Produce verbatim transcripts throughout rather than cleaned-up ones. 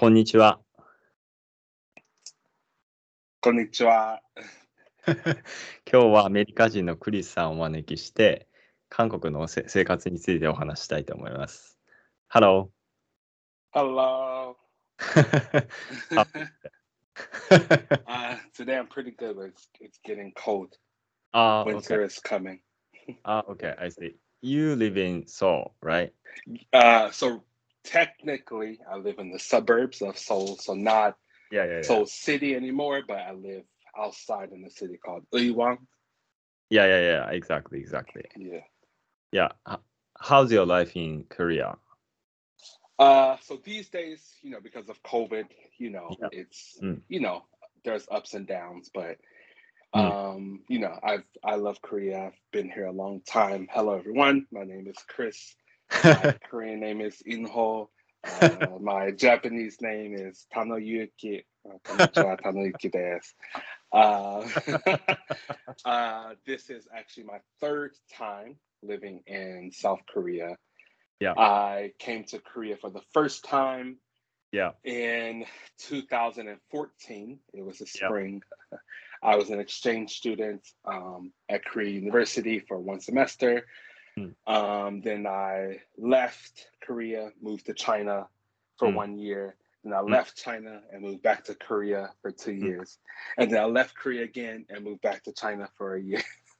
こんにちは。 こんにちは。 今日はアメリカ人のクリスさんをお招きして、韓国のせ生活についてお話したいと思います。Hello. Hello. How- uh, today I'm pretty good, but it's, it's getting cold. Ah, okay. Winter is coming. Ah, okay, I see. You live in Seoul, right? Uh, so technically, I live in the suburbs of Seoul, so not Yeah, yeah, yeah. Seoul City anymore, but I live outside in the city called Uiwang. Yeah, yeah, yeah, exactly, exactly. Yeah. Yeah. H- How's your life in Korea? Uh, so these days, you know, because of COVID, you know, Yeah. it's Mm, you know, there's ups and downs, but mm. Um, you know, I've I love Korea. I've been here a long time. Hello, everyone. My name is Chris. My Korean name is Inho. Uh, my Japanese name is Tanoyuki. Uh, konnichiwa, Tanoyuki desu. Uh, uh, this is actually my third time living in South Korea. Yeah, I came to Korea for the first time yeah, in two thousand fourteen. It was a yeah. spring. I was an exchange student um, at Korea University for one semester. Mm, Um, then I left Korea, moved to China for mm, one year. Then I mm, left China and moved back to Korea for two mm. years. And then I left Korea again and moved back to China for a year.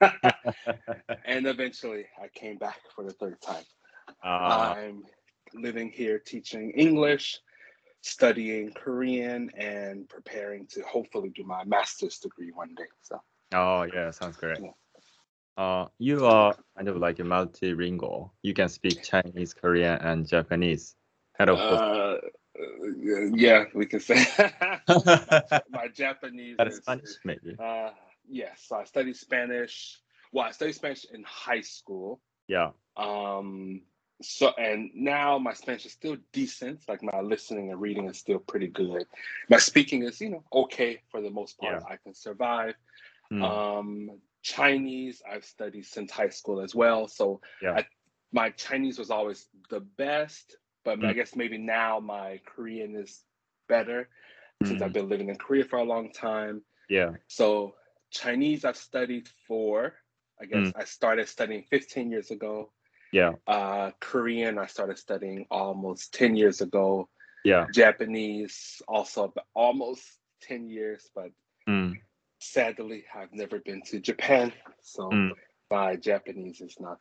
And eventually I came back for the third time. Ah, I'm living here teaching English, studying Korean, and preparing to hopefully do my master's degree one day. So, oh, yeah, sounds great. yeah. Uh, you are kind of like a multilingual. You can speak Chinese, Korean, and Japanese, and of course, Uh, yeah, we can say my my Japanese that is is Spanish, maybe. uh yes. So I studied Spanish. Well, I studied Spanish in high school. Yeah, Um, so and now my Spanish is still decent. Like my listening and reading is still pretty good. My speaking is, you know, okay for the most part. yeah, I can survive. mm, Um, Chinese I've studied since high school as well. So yeah, I my Chinese was always the best, but I mm, guess maybe now my Korean is better since I've mm, been living in Korea for a long time. yeah, So Chinese I've studied for, I mm, guess I started studying fifteen years ago. yeah, Uh, Korean I started studying almost ten years ago. yeah, Japanese also almost ten years, but mm, sadly I've never been to Japan, so mm. my Japanese is not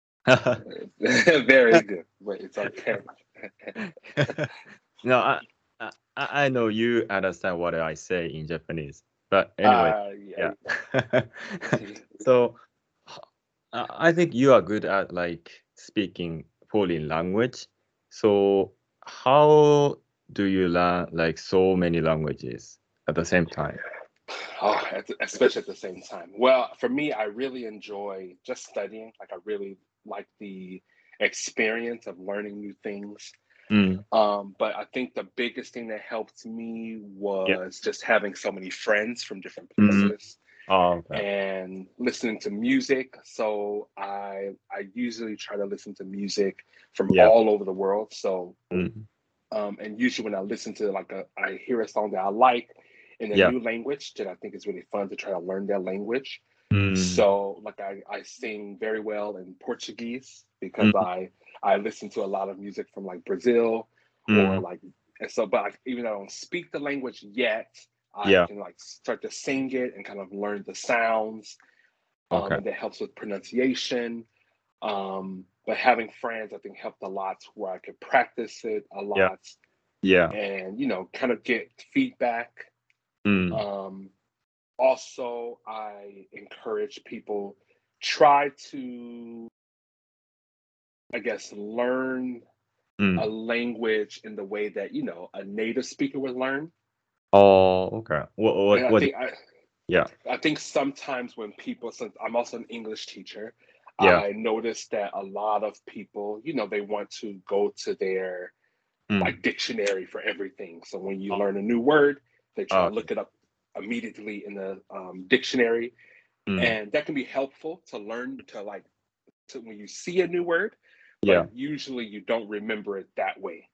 very good, but it's okay. No, I, I, I know you understand what I say in Japanese, but anyway, Uh, yeah. yeah. So, h- I I think you are good at like speaking foreign language. So, how do you learn like so many languages at the same time? Oh, at the- especially at the same time. Well, for me, I really enjoy just studying. Like, I really like the experience of learning new things. Mm, Um, but I think the biggest thing that helped me yeah. was just having so many friends from different Mm, places oh, okay. and listening to music. So I I usually try to listen to music from Yeah. all over the world. So Mm, um, and usually when I listen to like a I hear a song that I like in a yeah. new language, that I think is really fun to try to learn that language. Mm, So like I, I sing very well in Portuguese because mm, I I listen to a lot of music from like Brazil or mm, like and so but like, even though I don't speak the language yet, I yeah. can like start to sing it and kind of learn the sounds. Um, Okay. and that helps with pronunciation. Um, but having friends, I think, helped a lot where I could practice it a Yeah. lot Yeah. and, you know, kind of get feedback. Mm, Um, also, I encourage people try to, I guess, learn a mm. language in the way that, you know, a native speaker would learn. Oh, okay. What, And what, I what? do- think I, Yeah. I think sometimes when people, since I'm also an English teacher, Yeah. I notice that a lot of people, you know, they want to go to their Mm. like dictionary for everything. So when you Oh, learn a new word, they try to okay. look it up immediately in the um, dictionary, Mm. and that can be helpful to learn to like to when you see a new word, but Yeah. usually you don't remember it that way.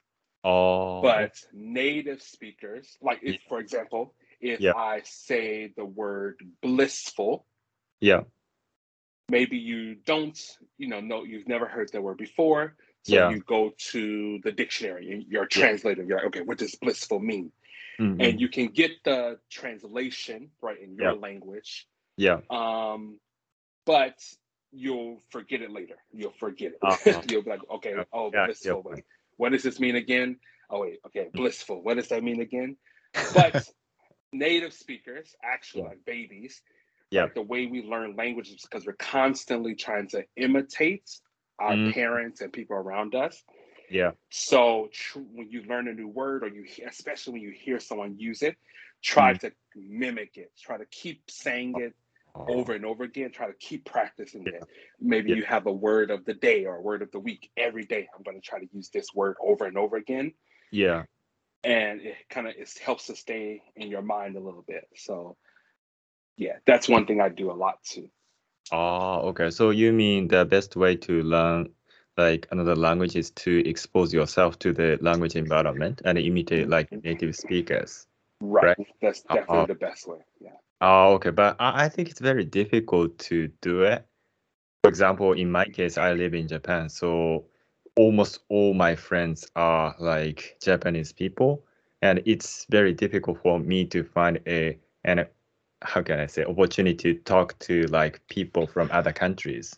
Oh, But native speakers, like if, yeah, for example, if yeah, I say the word blissful, yeah, maybe you don't, you know, know you've never heard that word before. So yeah, you go to the dictionary and you're a yeah. translator. You're like, okay, what does blissful mean? And Mm-mm. you can get the translation right in Yeah, your language, yeah. um, but you'll forget it later. You'll forget Uh, it. You'll be like, okay, yeah, oh, yeah, yeah, blissful. Wait, point. what does this mean again? Oh, wait, okay, Mm. blissful. What does that mean again? But native speakers, actually Yeah, like babies, yeah. right? The way we learn languages is because we're constantly trying to imitate our Mm, parents and people around us. yeah. So tr- when you learn a new word, or you, he- especially when you hear someone use it, try Mm. to mimic it. Try to keep saying it Oh, over and over again. Try to keep practicing yeah, it. Maybe yeah, you have a word of the day or a word of the week. Every day, I'm going to try to use this word over and over again, yeah. and it kind of it helps to stay in your mind a little bit. So yeah, that's one thing I do a lot too. Oh, okay. So you mean the best way to learn like another language is to expose yourself to the language environment and imitate like native speakers, Right. right? That's definitely Oh, the best way. Yeah. oh, okay. But I, I think it's very difficult to do it. For example, in my case, I live in Japan, so almost all my friends are like Japanese people, and it's very difficult for me to find a and how can I say opportunity to talk to like people from other countries.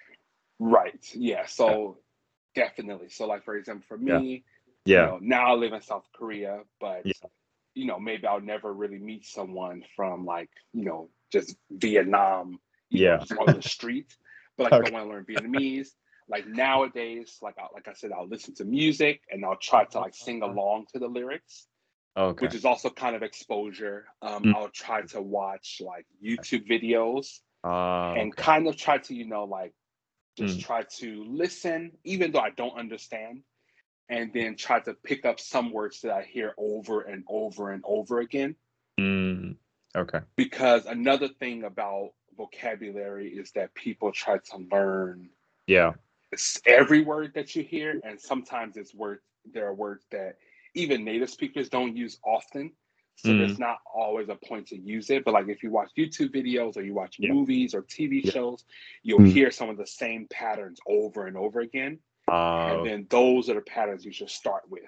Right. Yeah. Yeah, So definitely. So like for example, for yeah, me, you yeah, know, now I live in South Korea, but yeah, you know, maybe I'll never really meet someone from like, you know, just Vietnam, you know, yeah. just on the street. But like if I Okay. want to learn Vietnamese, like nowadays, like I, like I said, I'll listen to music and I'll try to like sing along to the lyrics, Okay. which is also kind of exposure. Um, Mm. I'll try to watch like YouTube videos Ah, and okay. kind of try to, you know, like just Mm. try to listen, even though I don't understand, and then try to pick up some words that I hear over and over and over again. Mm. Okay. Because another thing about vocabulary is that people try to learn Yeah. every word that you hear, and sometimes it's words, there are words that even native speakers don't use often. So Mm. there's not always a point to use it. But like if you watch YouTube videos or you watch Yeah. movies or T V Yeah. shows, you'll Mm. hear some of the same patterns over and over again. Ah, And okay. then those are the patterns you should start with.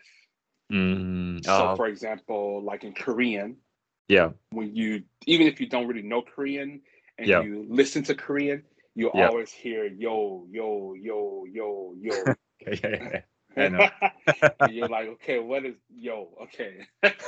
Mm. So Ah, for example, like in Korean, yeah. when you, even if you don't really know Korean and Yeah. you listen to Korean, you'll Yeah. always hear yo, yo, yo, yo, yo. Yeah. Yeah. Yeah. I know. And you're like, okay, what is yo? Okay.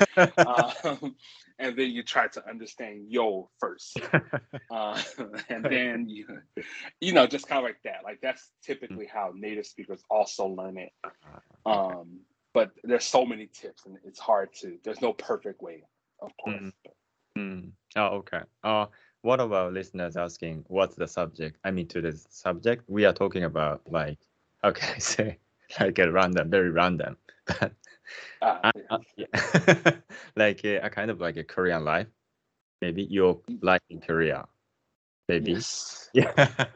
um, and then you try to understand yo first. Uh, and Okay. then you, you know, just kind of like that. Like that's Mm. typically how native speakers also learn it. Ah, okay. Um, but there's so many tips, and it's hard to. There's no perfect way, of course. Mm. Mm. Oh, okay. Uh, what about listeners asking what's the subject? I mean, to the subject, we are talking about like, how can I say, like a random, very random, but Ah, I, yes. uh, yeah. like a, a kind of like a Korean life. Maybe your life in Korea. Maybe. Yes. Yeah.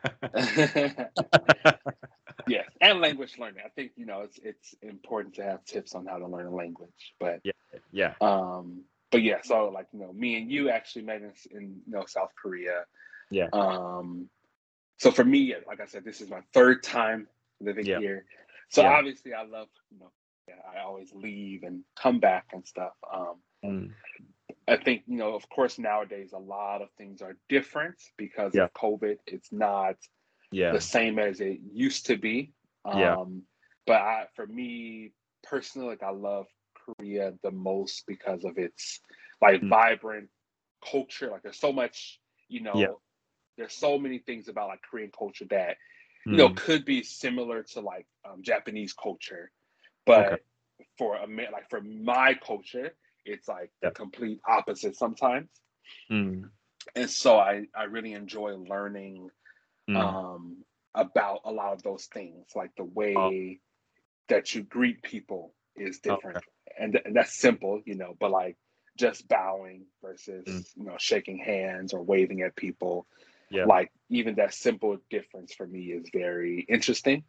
Yes, and language learning. I think you know it's it's important to have tips on how to learn a language. But Yeah. Yeah. um, but yeah, so like you know, me and you actually met in, in you know South Korea. Yeah. Um, so for me, like I said, this is my third time living Yeah. here. So Yeah. obviously, I love you know, yeah, I always leave and come back and stuff. Um, Mm. I think you know, of course, nowadays a lot of things are different because Yeah. of COVID. It's not the Yeah. same as it used to be. Yeah. Um, but I, for me personally, like I love Korea the most because of its like Mm. vibrant culture. Like there's so much, you Yeah. know, there's so many things about like Korean culture that you know Mm. could be similar to like um, Japanese culture, Okay. but for a like for my culture, it's like the Yeah. complete opposite sometimes. Mm. And so I I really enjoy learning Mm. um, about a lot of those things, like the Oh, way that you greet people is different, okay. and, th- and that's simple, you know. But like just bowing versus Mm. you know shaking hands or waving at people, Yeah. like even that simple difference for me is very interesting.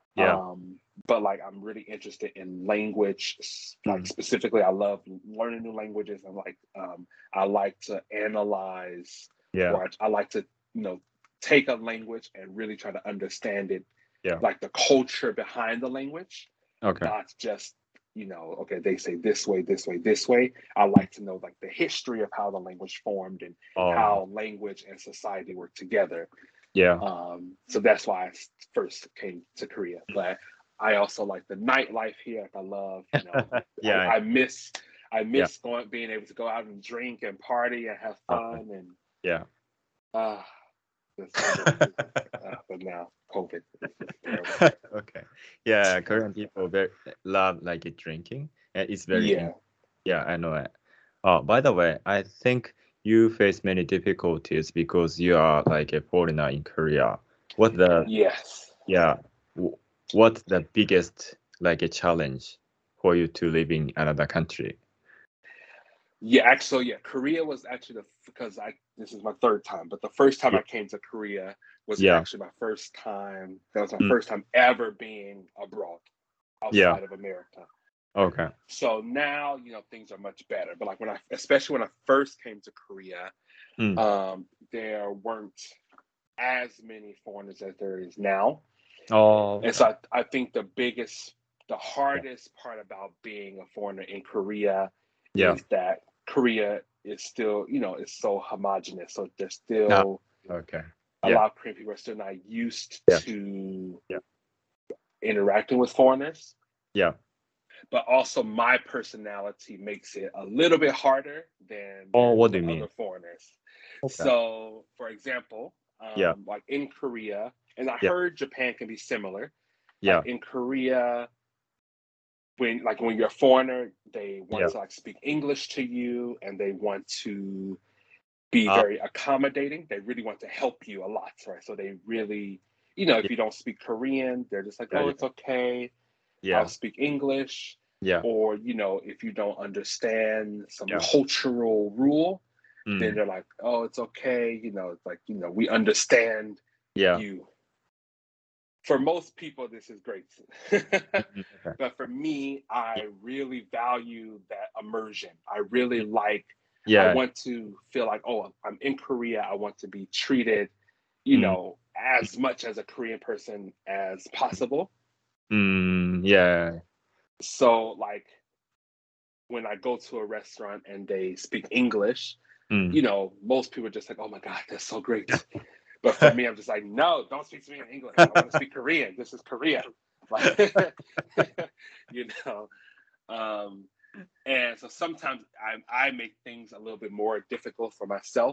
Yeah. Um, but like I'm really interested in language. s- Like Mm. specifically, I love learning new languages. I'm like um, I like to analyze, Yeah. or I, I like to you know take a language and really try to understand it, Yeah. like the culture behind the language, Okay. not just you know okay they say this way, this way, this way. I like to know like the history of how the language formed and Oh, how language and society work together. yeah. Um, so that's why I s- first came to Korea. But I also like the nightlife here. Like I love, you know, I, Yeah. I miss I Yeah. miss going being able to go out and drink and party and have Uh, fun and yeah. uh, this, this, uh but now COVID is just terrible. Okay. Yeah, Korean people very love like drinking, and it's very in- Yeah. yeah, I know it. Oh, by the way, I think you face many difficulties because you are like a foreigner in Korea. What the Yes. yeah, w- what's the biggest like a challenge for you to live in another country? Yeah, actually, yeah, Korea was actually the because I this is my third time, but the first time Yeah. I came to Korea was Yeah. actually my first time. That was my Mm. first time ever being abroad Yeah. outside of America. Okay. So now, you know, things are much better. But like when I, especially when I first came to Korea, Mm. um, there weren't as many foreigners as there is now. Oh, And so I, I think the biggest, the hardest part about being a foreigner in Korea yeah. is that Korea is still, you know, is so homogenous. So there's Ah, still okay. a Yeah. lot of Korean people are still not used Yeah. to Yeah. interacting with foreigners. Yeah. But also my personality makes it a little bit harder than Oh, there is what do with you mean? other foreigners. Okay. So, for example, Yeah. um, like in Korea, and I Yeah. heard Japan can be similar. Yeah. Like in Korea, when like when you're a foreigner, they want Yeah. to like speak English to you, and they want to be Ah, very accommodating. They really want to help you a lot, right? So they really, you know, if yeah. you don't speak Korean, they're just like, Yeah. oh, Yeah. it's okay. I'll Yeah. speak English. Yeah. Or, you know, if you don't understand some Yeah. cultural rule, then Mm. they're like, oh, it's okay. You know, it's like, you know, we understand Yeah. you. For most people, this is great. Mhm. Okay. But for me, I really value that immersion. I really like, I Yeah. want to feel like, oh, I'm in Korea. I want to be treated, you Mm. know, as much as a Korean person as possible. Mm. Yeah. So, like, when I go to a restaurant and they speak English, Mm. you know, most people are just like, oh my God, that's so great. But for me, I'm just like, no, don't speak to me in English. I want to speak Korean. This is Korea. Like, you know. Um, and so sometimes I, I make things a little bit more difficult for myself.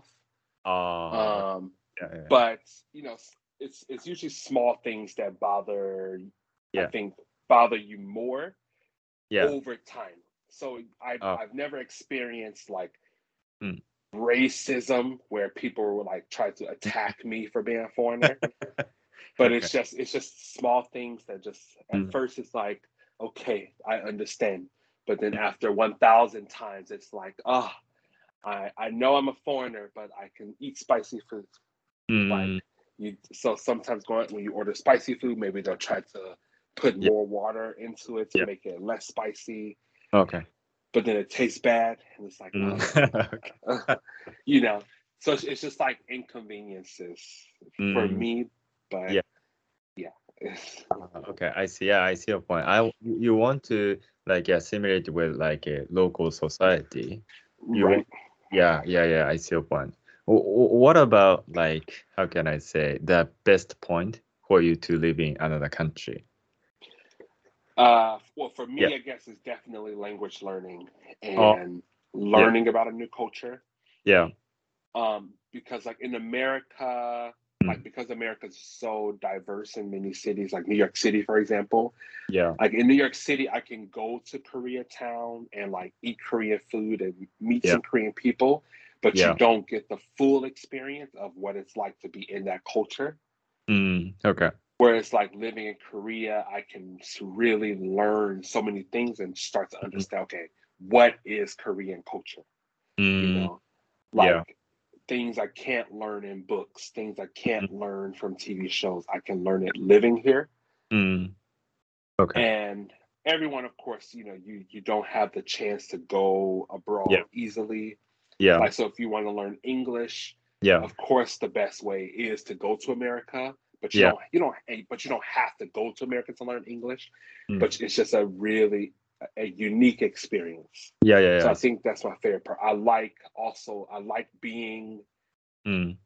Oh, Um, yeah. Yeah. but, you know, it's it's usually small things that bother, I Yeah. think, bother you more Yeah. over time. So I, Oh. I've never experienced like Mm. racism where people were like try to attack me for being a foreigner. But Okay. it's just it's just small things that just at Mm. first it's like, okay, I understand. But then after one thousand times, it's like, oh, I, I know I'm a foreigner, but I can eat spicy food. Like Mm. you, so sometimes going when you order spicy food, maybe they'll try to put Yeah. more water into it to Yeah. make it less spicy. Okay. But then it tastes bad, and it's like, Mm. oh, Okay. you know. So it's, it's just like inconveniences for Mm. me, but Yeah. yeah, Uh, okay. I see. Yeah, I see your point. I you you want to like assimilate with like a local society. You right. want. Yeah. Yeah. Yeah. I see your point. Wh- wh- What about like how can I say the best point for you to live in another country? Uh, well, for Yeah. me, I guess it's definitely language learning Oh. and Yeah. learning about a new culture. Yeah. Um, because like in America, like Mm. because America's so diverse in many cities, like New York City, for example. Yeah. Like in New York City, I can go to Koreatown and like eat Korean food and meet Yeah. some Korean people, but you Yeah. don't get the full experience of what it's like to be in that culture. Mm. Okay. Whereas like living in Korea, I can really learn so many things and start to Mm. understand, okay, what is Korean culture? You Mm. know, Yeah. like things I can't learn in books, things I can't Mm. learn from T V shows. I can learn it living here. Mm. Okay. And everyone, of course, you know, you you don't have the chance to go Yeah. abroad easily. Yeah. Like, so if you want to learn English, Yeah. of course, the best way is to go to America. But you Yeah. don't you don't eh, but you don't have to go to America to learn English. Mm. But it's just a really a unique experience. Yeah. Yeah. So Yeah. I think that's my favorite part. I like also I like being. Mm.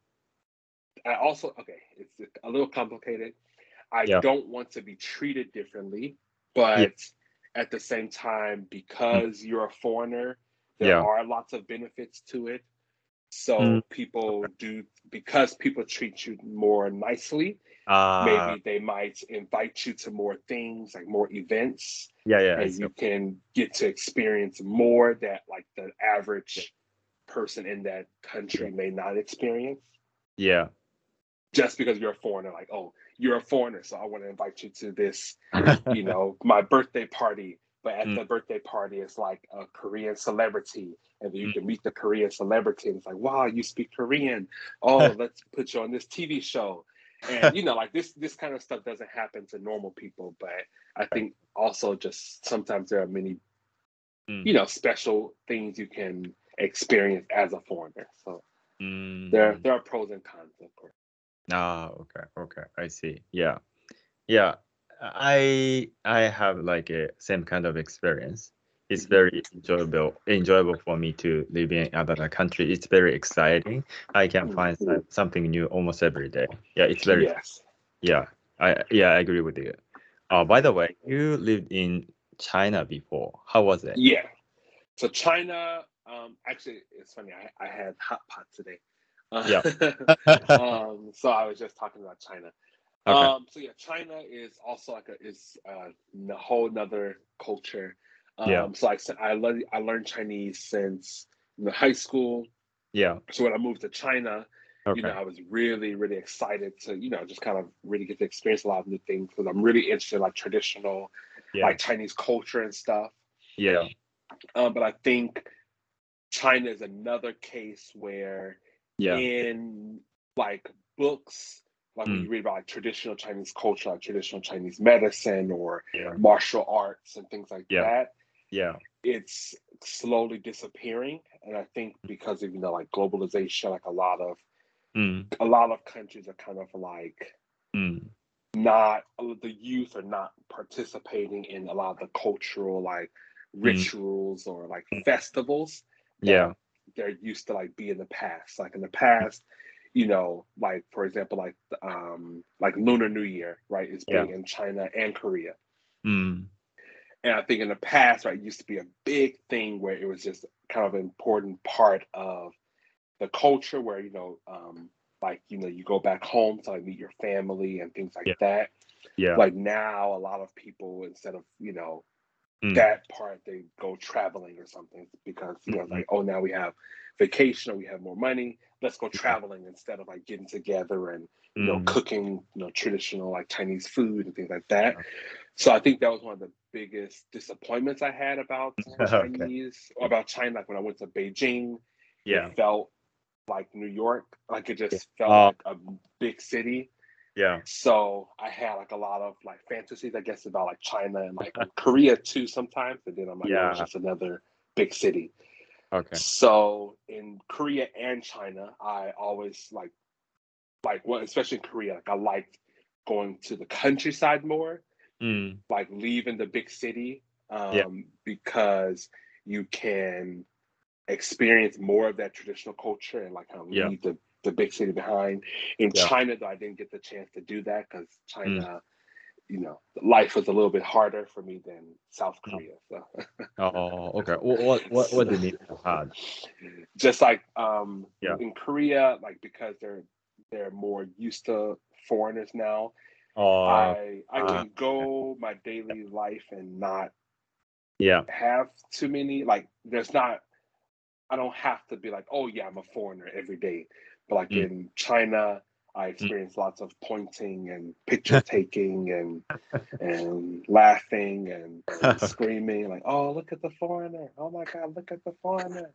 I also okay. It's a little complicated. I Yeah. don't want to be treated differently, Yeah. but at the same time, Mm. because you're a foreigner, there Yeah. are lots of benefits to it. Mm. So people do, because people treat you more nicely, Uh, maybe they might invite you to more things, like more events, yeah. Yeah. I and see. you can get to experience more that like the Yeah. average person in that Yeah. country may not experience. Yeah. Just because you're a foreigner, like, oh, you're a foreigner, so I want to invite you to this, you know, my birthday party. But at Mm. the birthday party, it's like a Korean celebrity, and then you Mm. can meet the Korean celebrity, and it's like, wow, you speak Korean. Oh, let's put you on this T V show, and you know, like this this kind of stuff doesn't happen to normal people. But I think also just sometimes there are many, Mm. you know, special things you can experience as a foreigner. So there Mm. there are pros and cons, of course. Ah, okay, okay, I see. Yeah, yeah. I I have like a same kind of experience. It's Mhm. very enjoyable enjoyable for me to live in another country. It's very exciting. I can find Mhm. some- something new almost every day. Yeah, it's very Yes. yeah. I yeah, I agree with you. Uh, by the way, you lived in China before. How was it? Yeah. So China, um, actually, it's funny. I, I had hot pot today. Uh, Yeah. um, so I was just talking about China. Okay. Um, so yeah, China is also like a is uh, a whole nother culture. Yeah. Um, so I said I learned I learned Chinese since you know, high school. Yeah. So when I moved to China, you know, Okay. I was really, really excited to, you know, just kind of really get to experience a lot of new things because I'm really interested in like traditional, Yeah. like Chinese culture and stuff. Yeah. Um, but I think China is another case where Yeah. in like books, like when Mm. you read about like traditional Chinese culture, like traditional Chinese medicine or Yeah. martial arts and things like Yeah. that, Yeah. it's slowly disappearing. And I think because of you know like globalization, like a lot of Mm. a lot of countries are kind of like Mm. not the youth are not participating in a lot of the cultural like Mm. rituals or like Mm. festivals Yeah. that they're used to like be in the past. Like in the past, you know, like for example, like um like Lunar New Year, right, is Yeah. big in China and Korea. Mm. And I think in the past, right, it used to be a big thing where it was just kind of an important part of the culture where you know um like you know you go back home to like meet your family and things like Yeah. that. Yeah. Like now a lot of people instead of you know Mm. that part they go traveling or something because you know Mm. like oh now we have vacation or we have more money, let's go Yeah. traveling instead of like getting together and you know Mm. cooking you know traditional like Chinese food and things like that. So I think that was one of the biggest disappointments I had about Okay. Chinese or about China. Like when I went to Beijing, it Yeah. felt like New York. Like it Yeah. just felt Uh, like a big city. yeah. So I had like a lot of like fantasies, I guess, about like China and like Korea too sometimes. And then I'm like, oh, it's Yeah. just another big city. Okay. So in Korea and China, I always like like well, especially in Korea, like I liked going to the countryside more, Mm. like leaving the big city, Yeah. um, because you can experience more of that traditional culture and like kind of Yeah. leave the, the big city behind. In Yeah. China, though, I didn't get the chance to do that because Mm. China, you know, life was a little bit harder for me than South Oh, Korea. So, oh, okay. What what what what so do you mean hard? just like um, Yeah. in Korea, like because they're they're more used to foreigners now, Uh, I I uh, can go my daily life and not yeah. have too many like there's not I don't have to be like, oh yeah, I'm a foreigner every day. But like Mm. in China, I Mm. experienced lots of pointing and picture taking and and laughing and Okay. screaming like, oh look at the foreigner. Oh my god, look at the foreigner.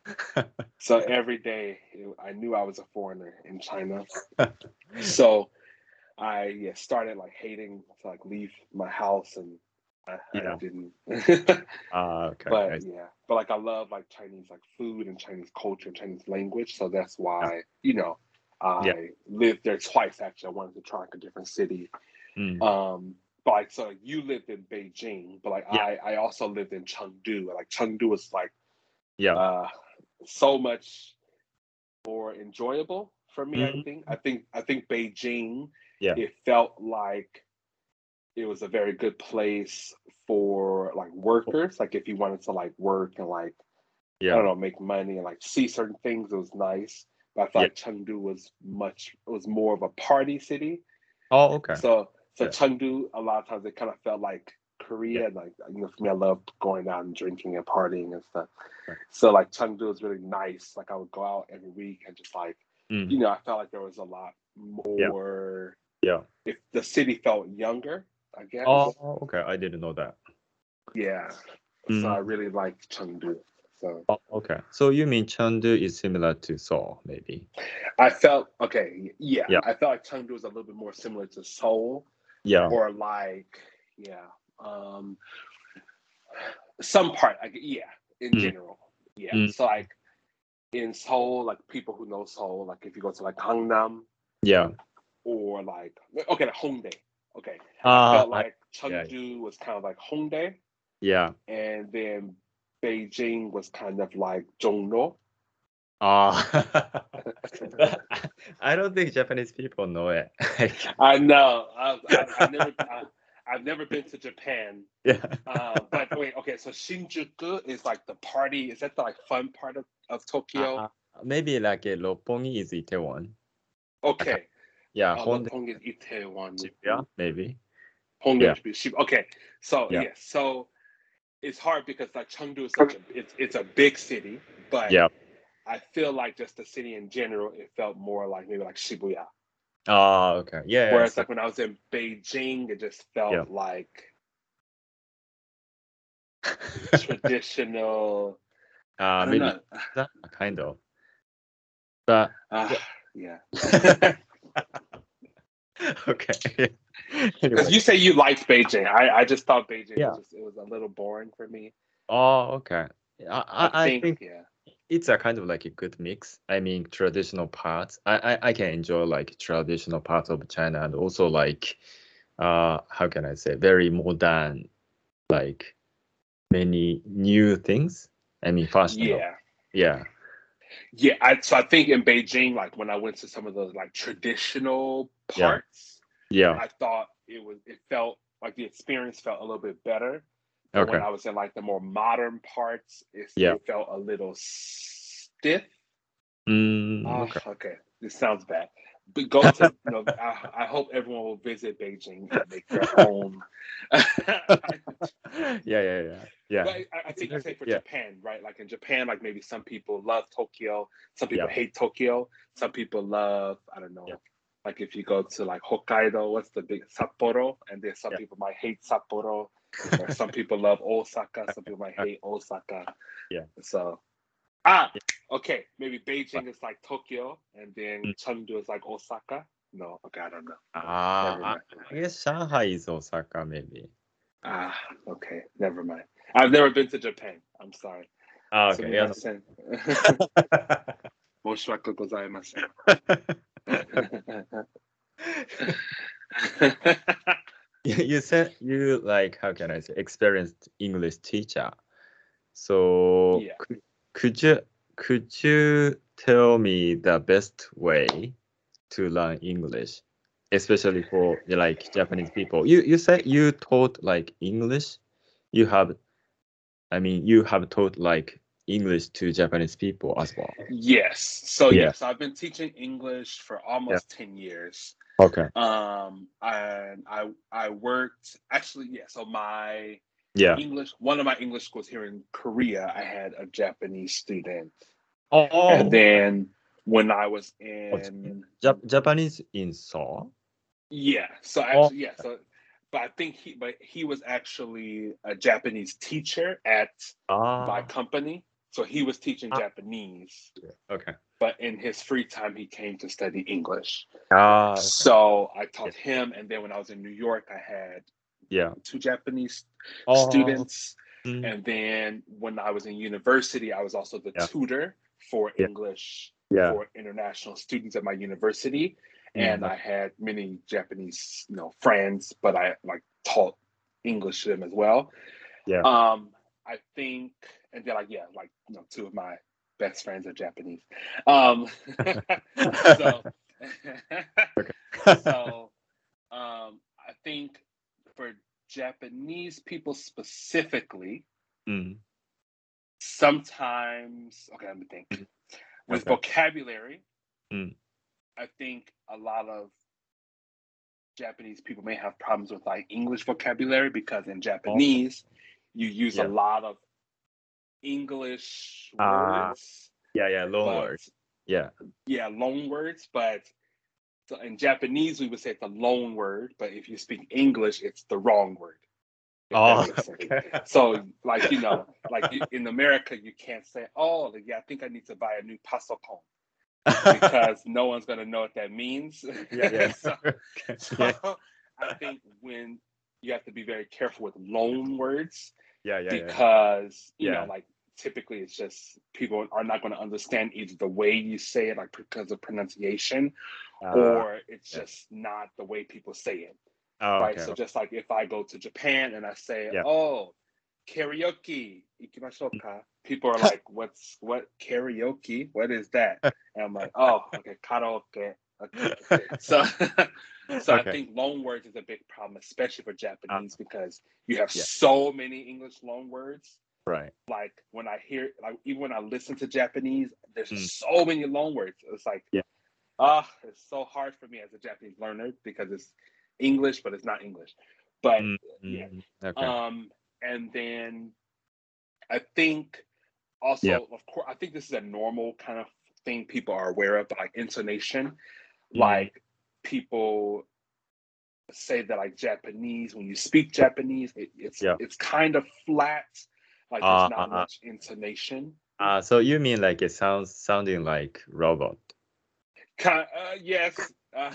So every day I knew I was a foreigner in China. So I yeah, started like hating to like leave my house and I, I Yeah. didn't. Ah, okay. But I see. yeah, but like I love like Chinese like food and Chinese culture and Chinese language, so that's Yeah. why you know Yeah. I lived there twice. Actually, I wanted to try like a different city. Mm. Um, but like so, you lived in Beijing, but like Yeah. I I also lived in Chengdu. Like Chengdu was like Yeah. uh so much more enjoyable for me. I Mm. think. I think I think Beijing. Yeah. It felt like it was a very good place for like workers. Like if you wanted to like work and like I Yeah. don't know make money and like see certain things, it was nice. But I felt Yeah. like Chengdu was much it was more of a party city. Oh, okay. So so Yeah. Chengdu a lot of times it kind of felt like Yeah. Korea. Like you know for me, I love going out and drinking and partying and stuff. Right. So like Chengdu was really nice. Like I would go out every week and just like you Mm. know I felt like there was a lot Yeah. more. Yeah. If the city felt younger, I guess. Oh, okay. I didn't know that. Yeah. So I Mm. really liked Chengdu. So Oh, okay. So you mean Chengdu is similar to Seoul, maybe? I felt okay. Yeah, Yeah. I felt like Chengdu was a little bit more similar to Seoul, Yeah. or like yeah, um, some part. Like yeah, in Mm. general. Yeah. Mm. So like in Seoul, like people who know Seoul, like if you go to like Gangnam Yeah. or like okay, like Hongdae. Okay, I Ah, felt I, like yeah. Chengdu was kind of like Hongdae, Yeah. and then Beijing was kind of like Zhongno. Ah. I don't think Japanese people know it. Like, I know. I've, I've, I've never I, I've never been to Japan. yeah. Uh, but wait, okay. So Shinjuku is like the party. Is that the like fun part of, of Tokyo? Uh, maybe like a Roppongi is Itaewon. Okay. Yeah, Uh, Honda, Roppongi is Itaewon. Shibuya, maybe. Honda Yeah. is Shibuya. Okay. So Yeah. yeah. So it's hard because like Chengdu is such a it's it's a big city, but Yeah. I feel like just the city in general, it felt more like maybe like Shibuya. Ah, okay. Yeah, yeah. Whereas So, like when I was in Beijing, it just yeah. felt like traditional. I Uh, don't maybe know. that kind of. But Uh, yeah. yeah. Okay. Because Anyway. you say you liked Beijing. I, I just thought Beijing Yeah. was just it was a little boring for me. Oh, okay. I, I I, I think think yeah. it's a kind of like a good mix. I mean, traditional parts. I, I, I can enjoy like traditional parts of China and also like, uh, how can I say, very modern, like many new things. I mean, fashionable. Yeah. Yeah. Yeah. I so I think in Beijing, like when I went to some of those like traditional Yeah. parts, Yeah. I thought it was it felt like the experience felt a little bit better. But when Okay. I was in like the more modern parts, it Yeah. it felt a little stiff. Mm, Oh, okay. okay. This sounds bad. But go to, you know, I, I hope everyone will visit Beijing and make their own. Yeah, yeah, yeah. Yeah. But I, I think I say for Yeah. Japan, right? Like in Japan, like maybe some people love Tokyo, some people Yeah. hate Tokyo, some people love, I don't know, Yeah. like if you go to like Hokkaido, what's the big Sapporo? And then some Yeah. people might hate Sapporo, or some people love Osaka, some people might hate Osaka. Yeah. So Ah, Yeah. okay. Maybe But, Beijing is like Tokyo, and then mm, Chengdu is like Osaka. No, okay, I don't know. ah, Never I, mind. I guess Shanghai is Osaka, maybe. Ah, okay, never mind. I've never been to Japan. I'm sorry. Ah, okay. Yeah. No. Sumimasen. Moshiwaku gozaimasen. You you said you like, how can I say, experienced English teacher. So Yeah. could, could you could you tell me the best way to learn English, especially for like Japanese people? You you said you taught like English. You have, I mean, you have taught like English to Japanese people as well. Yes. So Yeah. yes, I've been teaching English for Yeah. almost ten years. Okay. Um, and I I worked actually, yeah. So my Yeah. English, one of my English schools here in Korea, I had a Japanese student. Oh, And okay. then when I was Oh, in, Jap- Japanese in Seoul. yeah, so Oh, actually, yeah, so, but I think he, but he was actually a Japanese teacher at my ah, company. So he was teaching ah, Japanese, okay. but in his free time, he came to study English. Ah, okay. So I Yeah. taught him. And then when I was in New York, I had Yeah. two Japanese Oh. students. Mm. And then when I was in university, I was also the Yeah. tutor for Yeah. English Yeah. for international students at my university. And Mm. I had many Japanese, you know, friends, but I like taught English to them as well. Yeah. Um, I think, and then like, yeah, like, you know, two of my best friends are Japanese. Um, so, so, um, I think for Japanese people specifically, Mm. sometimes, okay, let me think. Mm. With Okay. vocabulary, Mm. I think a lot of Japanese people may have problems with like English vocabulary because in Japanese, you use Yeah. a lot of English Ah. words, Yeah, yeah, loan but word. Yeah. yeah, loan words. But so in Japanese, we would say it's a loan word, but if you speak English, it's the wrong word. If Oh, that makes sense. okay. So, like, you know, like you, in America, you can't say, "Oh, yeah, I think I need to buy a new pasokon," because no one's gonna know what that means. Yeah, yeah. so, Okay. so Yeah. I think when you have to be very careful with loan words Yeah, yeah, yeah. because you Yeah. know, like typically it's just people are not going to understand either the way you say it, like because of pronunciation, Uh, or it's yeah. just not the way people say it. Oh, Right. okay. So just like if I go to Japan and I say, Yeah. "Oh, karaoke, ikimashou ka?" People are like, "What's what karaoke? What is that?" And I'm like, "Oh, okay, karaoke." Okay. So, so I Okay. think loan words is a big problem, especially for Uh, Japanese, because you have yeah. so many English loan words. Right. Like when I hear, like even when I listen to Japanese, there's Mm. so many loan words. It's like, Yeah. ah, it's so hard for me as a Japanese learner because it's English, but it's not English. But Mm. yeah. Mm. Okay. Um, and then I think also, Yeah. of course, I think this is a normal kind of thing people are aware of, but like intonation, Mm. like people say that like Japanese, when you speak Japanese, it, it's Yeah. it's kind of flat, like there's Uh, not uh, much intonation. uh, so you mean like it sounds sounding like robot? Kind, uh, yes, uh,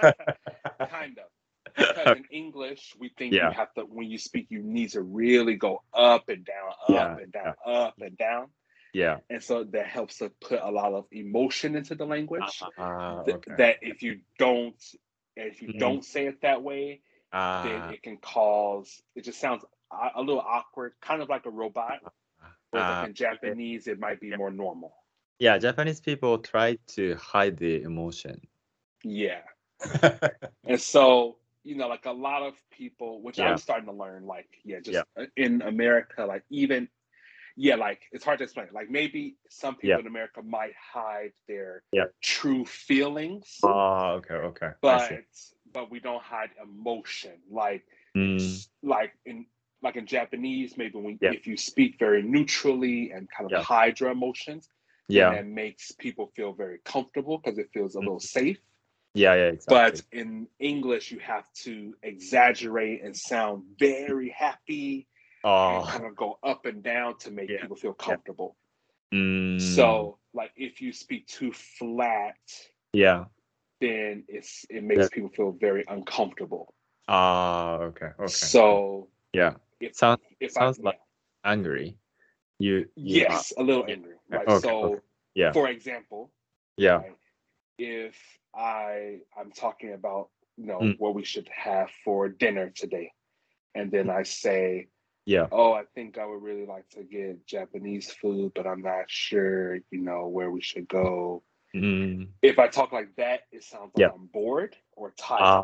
kind of. Because in English, we think you Yeah. have to, when you speak, you need to really go up and down, up Yeah. and down, Yeah. up and down. Yeah. And so that helps to put a lot of emotion into the language. Uh, Th- okay. that if you don't, if you Mm. don't say it that way, then Uh, it can cause, it just sounds a, a little awkward, kind of like a robot. Whereas like uh, in Japanese, it might be yeah. more normal. Yeah, Japanese people try to hide the emotion. Yeah. And so, you know, like a lot of people, which Yeah. I'm starting to learn, like, yeah, just Yeah. in America, like even, yeah, like it's hard to explain. Like maybe some people Yeah. in America might hide their Yeah. true feelings, Oh, okay, okay. I but see. but we don't hide emotion. Like Mm. s- like in like in Japanese, maybe when Yeah. if you speak very neutrally and kind of Yeah. hide your emotions, then Yeah. that makes people feel very comfortable because it feels a Mm. little safe. Yeah, yeah, But exactly. in English, you have to exaggerate and sound very happy and Oh, kind of go up and down to make yeah. people feel Yeah. comfortable. Mm. So, like, if you speak too flat, Yeah. then it's it makes Yeah. people feel very uncomfortable. Ah, okay, okay. So, Yeah. if Sounds if I sounds yeah, like angry. You you are. yes, a little Yeah. angry, Okay, right? okay, okay. So, Yeah. for example, Yeah. right, if I I'm talking about you know Mm. what we should have for dinner today, and then I say, Yeah. "Oh, I think I would really like to get Japanese food, but I'm not sure, you know, where we should go." Mm. If I talk like that, it sounds like Yeah. I'm bored or tired. Ah,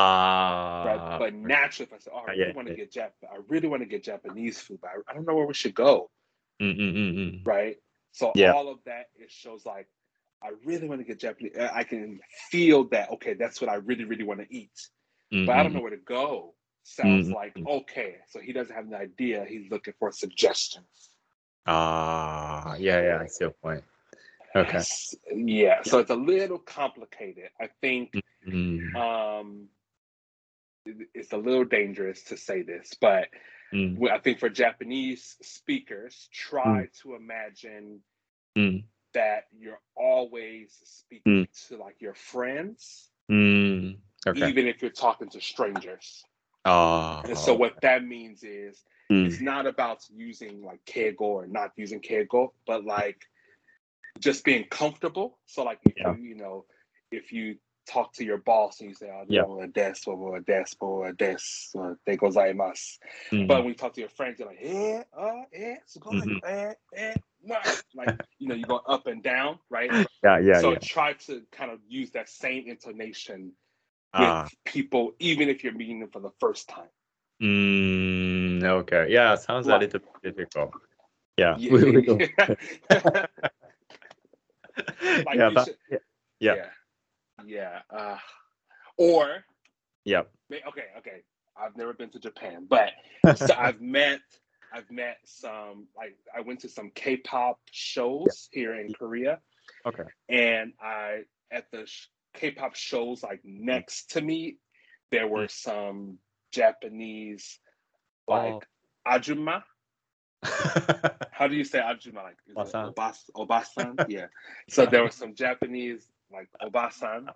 Right? ah. But naturally, if I say, "Oh, I Yeah, really want to yeah. get Jap, I really want to get Japanese food, but I, I don't know where we should go." Mm, mm, mm, mm. Right? So Yeah. all of that, it shows like I really want to get Japanese. I can feel that. Okay, that's what I really, really want to eat, Mm, but I don't mm, know where to go. mm, Sounds mm, like mm. okay, so he doesn't have an idea. He's looking for suggestions. Ah, yeah, yeah. I see your point. Okay. S- Yeah, so it's a little complicated. I think Mm, um, it- it's a little dangerous to say this, but mm, well, I think for Japanese speakers, mm, try to imagine mm, that you're always mm, speaking to like your friends, mm. Okay. even if you're talking to strangers. Ah, And so what that means is mm, it's not about using like keigo or not using keigo, but like just being comfortable. So like if yeah, you, you know, if you talk to your boss and you say, oh, yeah. no, des, or des, or des, or de gozaimasu. Mm, But when you talk to your friends, you're like, eh, uh, eh, sugoi, mhm. eh, eh, nah. Like, you know, you go up and down, right? Yeah, yeah, So yeah. try to kind of use that same intonation with Ah, people, even if you're meeting them for the first time. mm, okay. Yeah, sounds a Like, little bit difficult. Yeah, yeah, we, we don't. yeah. Like Yeah, you but should, yeah, yeah, yeah, yeah. Uh, or yeah. okay, okay. I've never been to Japan, but so I've met, I've met some. Like I went to some K-pop shows here in Korea, Okay. and I at the sh- K-pop shows like Mm, next to me, there mm. were some Japanese Oh. like ajumma. How do you say ajumma? Like is it Obasan. obas obasan? Yeah. So Yeah. there were some Japanese like obasan,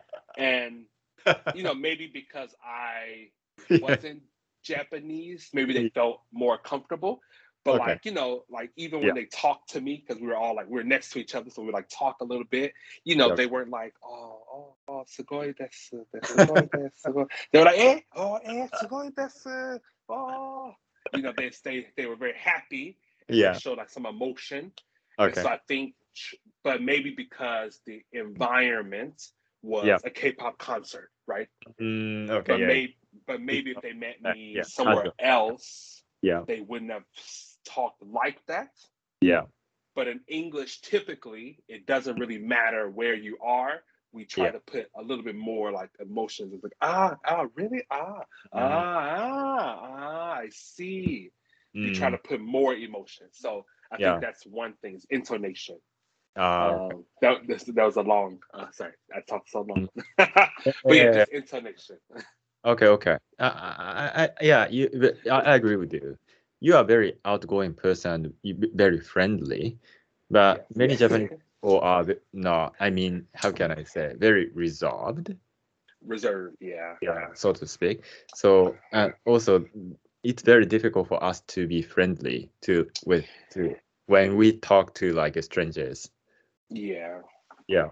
and you know maybe because I Yeah. wasn't Japanese, maybe they Yeah. felt more comfortable. But Okay. like you know, like even Yeah. when they talked to me, because we were all like we were next to each other, so we like talk a little bit. You know, Yeah. they weren't like oh oh oh sugoi desu, sugoi desu. Sugoi. They were like eh oh eh sugoi desu oh. You know, they they they were very happy and they Yeah. showed like some emotion. And Okay. so I think, but maybe because the environment Yeah. was a K-pop concert, right? Mm, okay. But Yeah. maybe, but maybe if they met Yeah. me Yeah. somewhere Casual. else, Yeah. they wouldn't have talked like that. Yeah. But in English, typically, it doesn't really matter where you are. We try Yeah. to put a little bit more like emotions. It's like ah ah really ah Mm, ah ah ah I see. You try mm, to put more emotion. So I think yeah. that's one thing is intonation. Ah, okay. Um, that this, that was a long. Uh, sorry, I talked so long. Mm. But yeah, Yeah. just intonation. Okay. Okay. I, I, I, yeah. You. I, I agree with you. You are very outgoing person. You be very friendly, but Yes, many yes. Japanese people are ve- no. I mean, how can I say? Very reserved. Reserved. Yeah, Yeah, so to speak. So and also it's very difficult for us to be friendly to with to when we talk to like strangers. yeah. Yeah.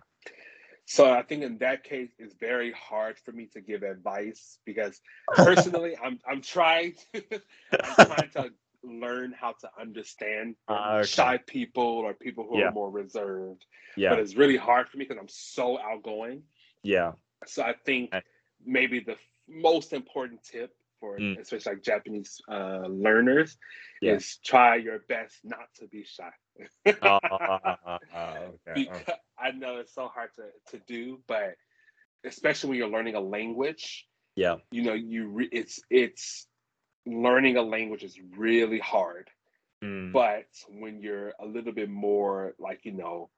So I think in that case, it's very hard for me to give advice because personally, I'm I'm trying to, I'm trying to learn how to understand Ah, okay. shy people or people who are Yeah. more reserved. But Yeah. it's really hard for me because I'm so outgoing. Yeah. So I think And- maybe the most important tip for mm, especially like Japanese uh, learners yeah. is try your best not to be shy. Ah, ah, ah, ah, okay. Okay. Because I know it's so hard to, to do, but especially when you're learning a language, Yeah. you know, you re- it's it's learning a language is really hard. Mm, But when you're a little bit more like, you know,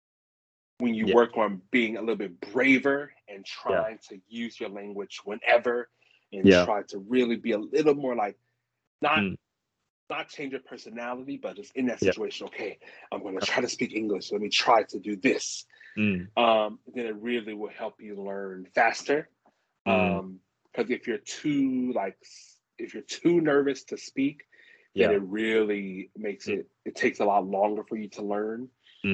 when you yeah. work on being a little bit braver and Yeah. trying to use your language whenever and Yeah. try to really be a little more like not Mm, not change your personality, but just in that yeah. situation, okay, I'm gonna try to speak English. Let me try to do this. Mm, Um, then it really will help you learn faster. mm, Um, because if you're too like if you're too nervous to speak, then yeah. it really makes Mm, it it takes a lot longer for you to learn.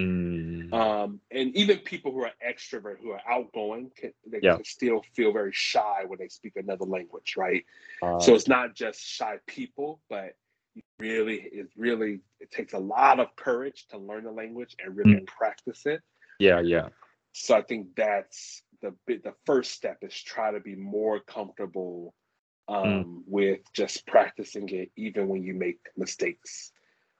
mm, Um, and even people who are extrovert, who are outgoing, can, they yeah. can still feel very shy when they speak another language, right? Uh, So it's not just shy people, but really, it really it takes a lot of courage to learn the language and really mm, practice it. yeah. Yeah. So I think that's the the first step is try to be more comfortable Mm, um, with just practicing it, even when you make mistakes.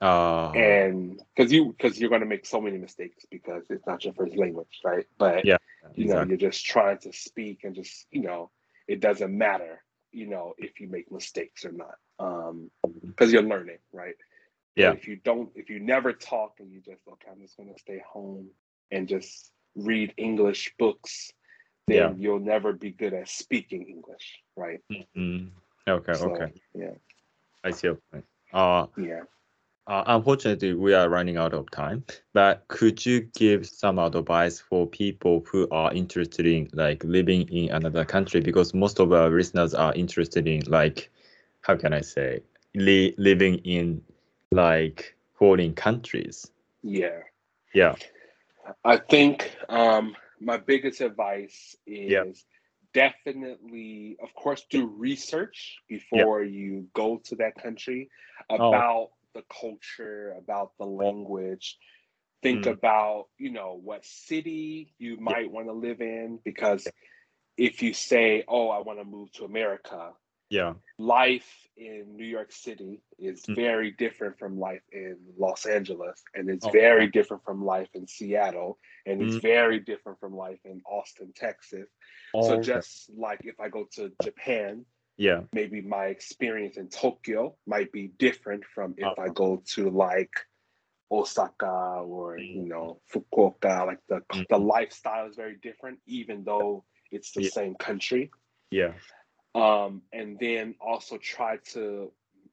uh, And because you because you're going to make so many mistakes because it's not your first language, right? But yeah. you know Exactly. you're just trying to speak and just you know it doesn't matter you know if you make mistakes or not um because you're learning, right? But Yeah. if you don't if you never talk and you just okay, I'm just going to stay home and just read English books, Yeah. then you'll never be good at speaking English, right? Mm, okay. So Okay. yeah, I see your point. Uh, yeah, Uh, unfortunately, we are running out of time, but could you give some advice for people who are interested in like living in another country? Because most of our listeners are interested in like, how can I say, li living in like foreign countries. Yeah. Yeah. I think um, my biggest advice Yeah. is definitely, of course, do research Yeah. before you go to that country Oh. about the culture, about the language. Think Mm. about, you know, what city you Yeah. might want to live in, because if you say, oh, I want to move to America, Yeah. life in New York City is Mm. very different from life in Los Angeles, and it's Oh. very different from life in Seattle, and it's Mm. very different from life in Austin, Texas. So Oh, okay. just like if I go to Japan, Yeah. maybe my experience in Tokyo might be different from if I Uh, go to like Osaka or, mm. you know, Fukuoka. Like the the Mm. lifestyle is very different, even though it's the Yeah. same country. Yeah. Um, and then also try to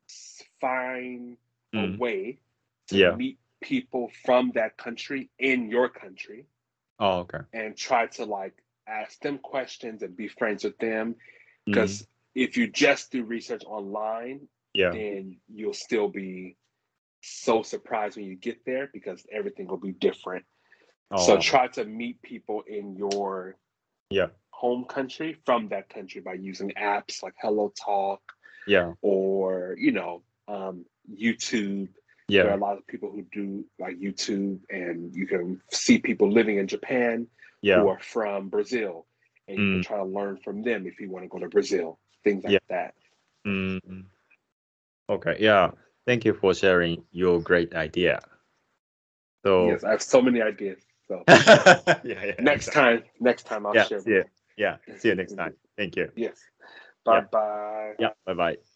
find a Mm. way to Yeah. meet people from that country in your country, Oh, okay. and try to like ask them questions and be friends with them. Mm. Because if you just do research online, Yeah. then you'll still be so surprised when you get there because everything will be different. So Oh, try to meet people in your yeah. home country from that country by using apps like Hello Talk Yeah. or, you know, um, YouTube. There are Yeah. a lot of people who do like YouTube, and you can see people living in Japan who Yeah. are from Brazil, and you can Mm. try to learn from them if you want to go to Brazil, things like Yeah. that. Mm. Okay. Yeah. Thank you for sharing your great idea. So, Yes, I have so many ideas. So yeah, yeah, next exactly. time, next time I'll Yeah. share See you. more. Yeah. See you next time. Thank you. Yes. Bye Yeah. bye. Yeah. Bye bye.